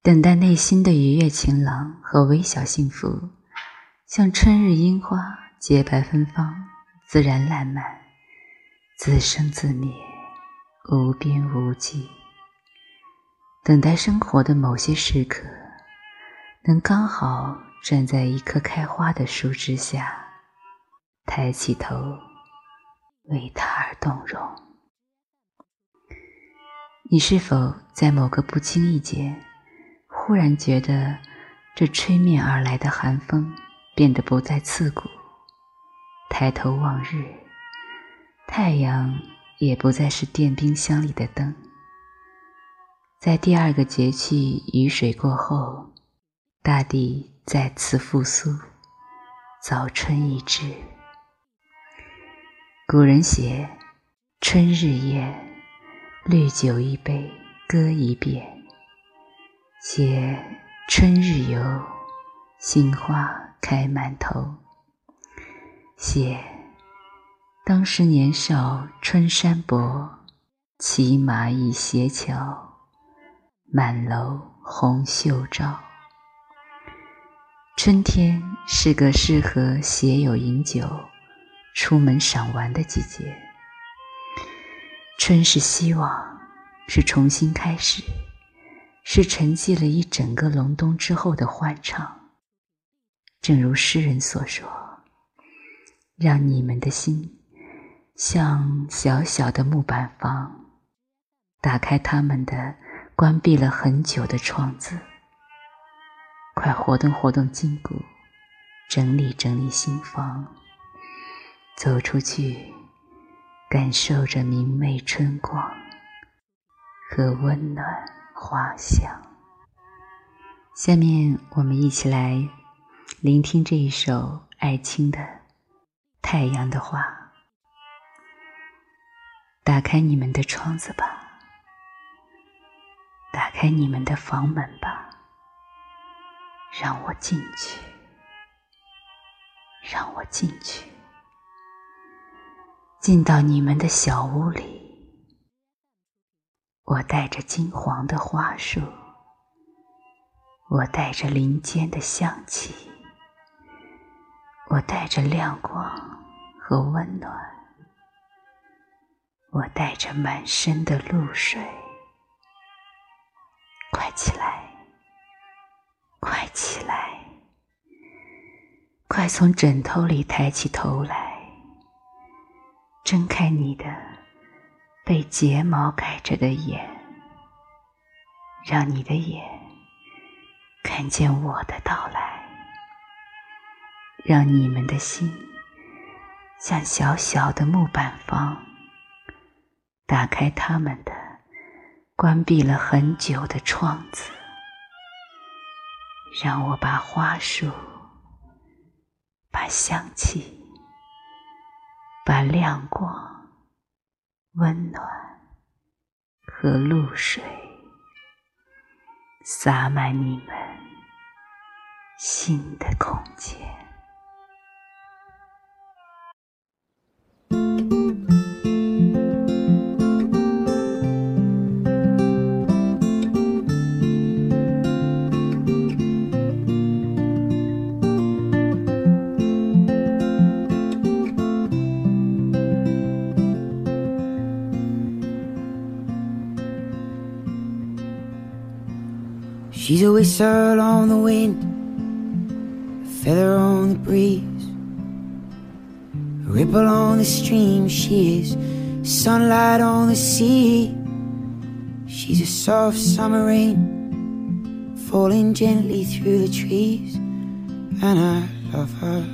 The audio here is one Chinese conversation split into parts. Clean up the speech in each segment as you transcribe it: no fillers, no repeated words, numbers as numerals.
等待内心的愉悦晴朗和微小幸福，像春日樱花洁白芬芳，自然烂漫，自生自灭，无边无际。等待生活的某些时刻，能刚好站在一棵开花的树枝下，抬起头为它而动容。你是否在某个不经意间忽然觉得这吹面而来的寒风变得不再刺骨，抬头望日，太阳也不再是电冰箱里的灯。在第二个节气雨水过后，大地再次复苏，早春已至。古人写春日宴，绿酒一杯，歌一遍，写春日游，杏花开满头，写当时年少春山薄，骑马倚斜桥，满楼红袖照。春天是个适合携友饮酒，出门赏玩的季节。春是希望，是重新开始，是沉寂了一整个隆冬之后的欢唱。正如诗人所说，让你们的心像小小的木板房，打开他们的关闭了很久的窗子，快活动活动筋骨，整理整理心房，走出去，感受着明媚春光和温暖花香。下面我们一起来聆听这一首艾青的《太阳的话》。打开你们的窗子吧，打开你们的房门吧，让我进去，让我进去，进到你们的小屋里。我带着金黄的花束，我带着林间的香气，我带着亮光和温暖，我带着满身的露水。快起来，快起来，快从枕头里抬起头来，睁开你的被睫毛盖着的眼，让你的眼看见我的到来，让你们的心像小小的木板房，打开他们的关闭了很久的窗子，让我把花束，把香气，把亮光，温暖和露水洒满你们心的空间。 She's a whistle on the wind, a feather on the breeze, a ripple on the stream. She is sunlight on the sea. She's a soft summer rain falling gently through the trees, and I love her.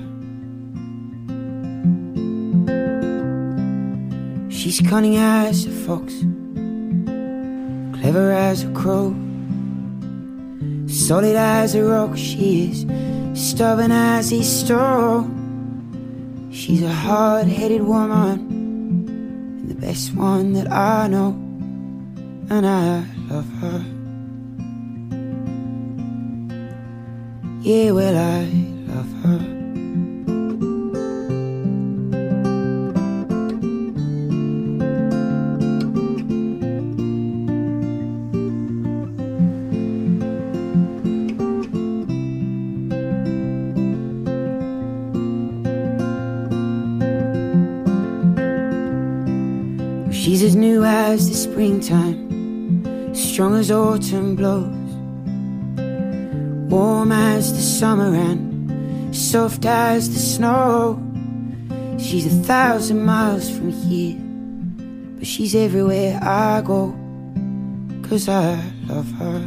She's cunning as a fox, clever as a crow, solid as a rock. She is stubborn as a stone. She's a hard-headed woman, and the best one that I know, and I love her. Yeah, well, I love her. She's as new as the springtime, strong as autumn blows, warm as the summer and soft as the snow. She's 1,000 miles from here, but she's everywhere I go, 'cause I love her.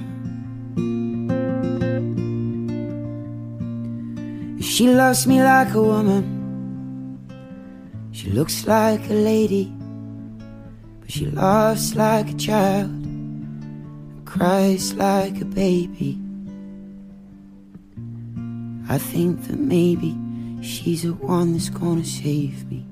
She loves me like a woman, she looks like a lady, but she laughs like a child and cries like a baby. I think that maybe she's the one that's gonna save me.